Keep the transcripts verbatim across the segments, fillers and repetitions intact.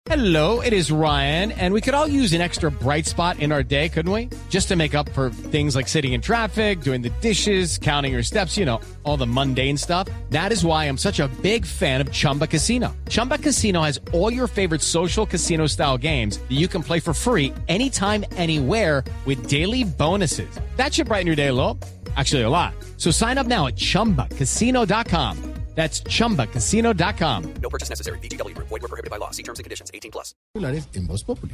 Hello, it is Ryan, and we could all use an extra bright spot in our day, couldn't we? Just to make up for things like sitting in traffic, doing the dishes, counting your steps, you know, all the mundane stuff. That is why I'm such a big fan of Chumba Casino. Chumba Casino has all your favorite social casino-style games that you can play for free anytime, anywhere with daily bonuses. That should brighten your day a little. Actually, a lot. So sign up now at chumba casino dot com. That's chumba casino dot com. No purchase necessary. V G W Group. Void where prohibited by law. See terms and conditions. eighteen plus. En Voz Populi.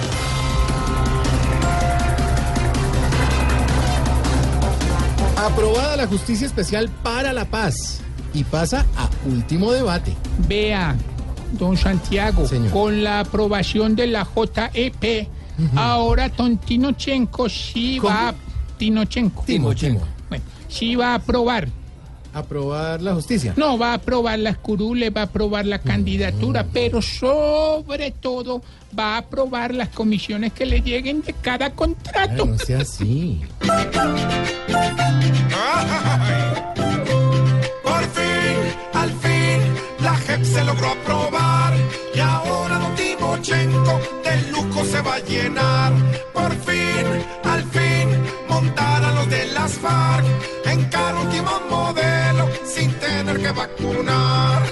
Aprobada la Justicia Especial para la Paz y pasa a último debate. Vea, don Santiago, Señor. con la aprobación de la J E P, uh-huh. ahora Tontinochenko sí ¿Cómo? va a... Tinochenko. Timo, Timo. Bueno, sí va a aprobar. Aprobar la justicia. No, va a aprobar las curules, va a aprobar la candidatura, pero sobre todo va a aprobar las comisiones que le lleguen de cada contrato. Ay, no sea así. Por fin, al fin, la J E P se logró aprobar y ahora don Timochenko de lujo se va a llenar. Por fin, al fin, montar a los de las FARC en carro último modelo sin tener que vacunar.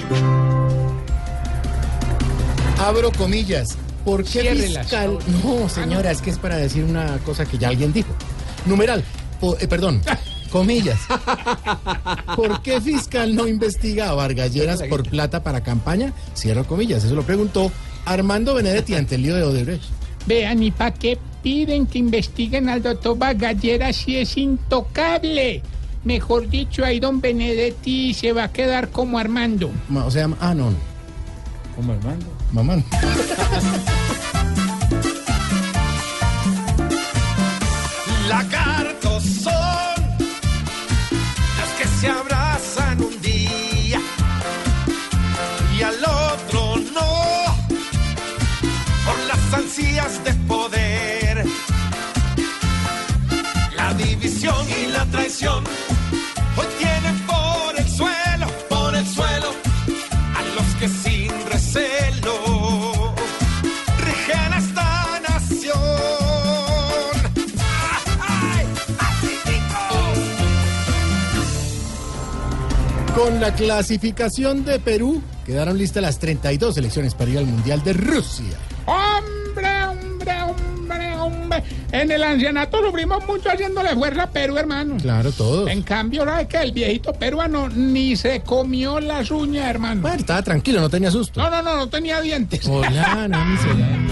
Abro comillas. ¿Por qué Ciérrelas. fiscal? No, señora, es que es para decir una cosa que ya alguien dijo. Numeral, po- eh, perdón, comillas. ¿Por qué fiscal no investiga a Vargas Lleras por plata para campaña? Cierro comillas. Eso lo preguntó Armando Benedetti ante el lío de Odebrecht. Vean, ¿y para qué piden que investiguen al doctor Vargallera si es intocable? Mejor dicho, ahí don Benedetti se va a quedar como Armando. Ma- O sea, ah, no, no. ¿Como Armando? Mamá. Lagartos son los que se abrazan un día y al otro no, por las ansias de poder. La división y la traición hoy tienen por el suelo, por el suelo, a los que sin recelo rigen esta nación. ¡Ay, Con la clasificación de Perú, quedaron listas las treinta y dos selecciones para ir al Mundial de Rusia. ¡Hombre, hombre, hombre, hombre! En el ancianato sufrimos mucho haciéndole fuerza a Perú, hermano. Claro, todos. En cambio, ¿sabes qué? El viejito peruano ni se comió las uñas, hermano. Bueno, estaba tranquilo, no tenía susto. No, no, no, no tenía dientes. Hola, no, ni se-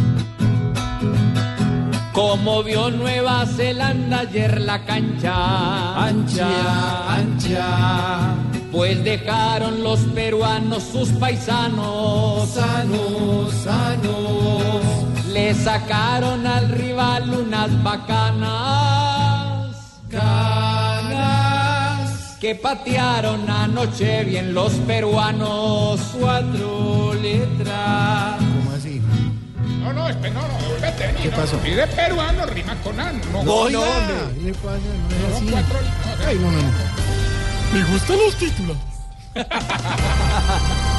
Como vio Nueva Zelanda ayer la cancha ancha, ancha, pues dejaron los peruanos sus paisanos sanos, sanos, le sacaron al rival unas bacanas canas que patearon anoche bien los peruanos, cuatro letras. ¿Cómo así? No, no, espera, no, no, vete, ¿Qué no, pasó? no, pide peruano, rima con ano. No, No, no, no, hombre. ¿qué le pasa? No es No, así. cuatro, no, Ay, no, no, no. me gustan los títulos.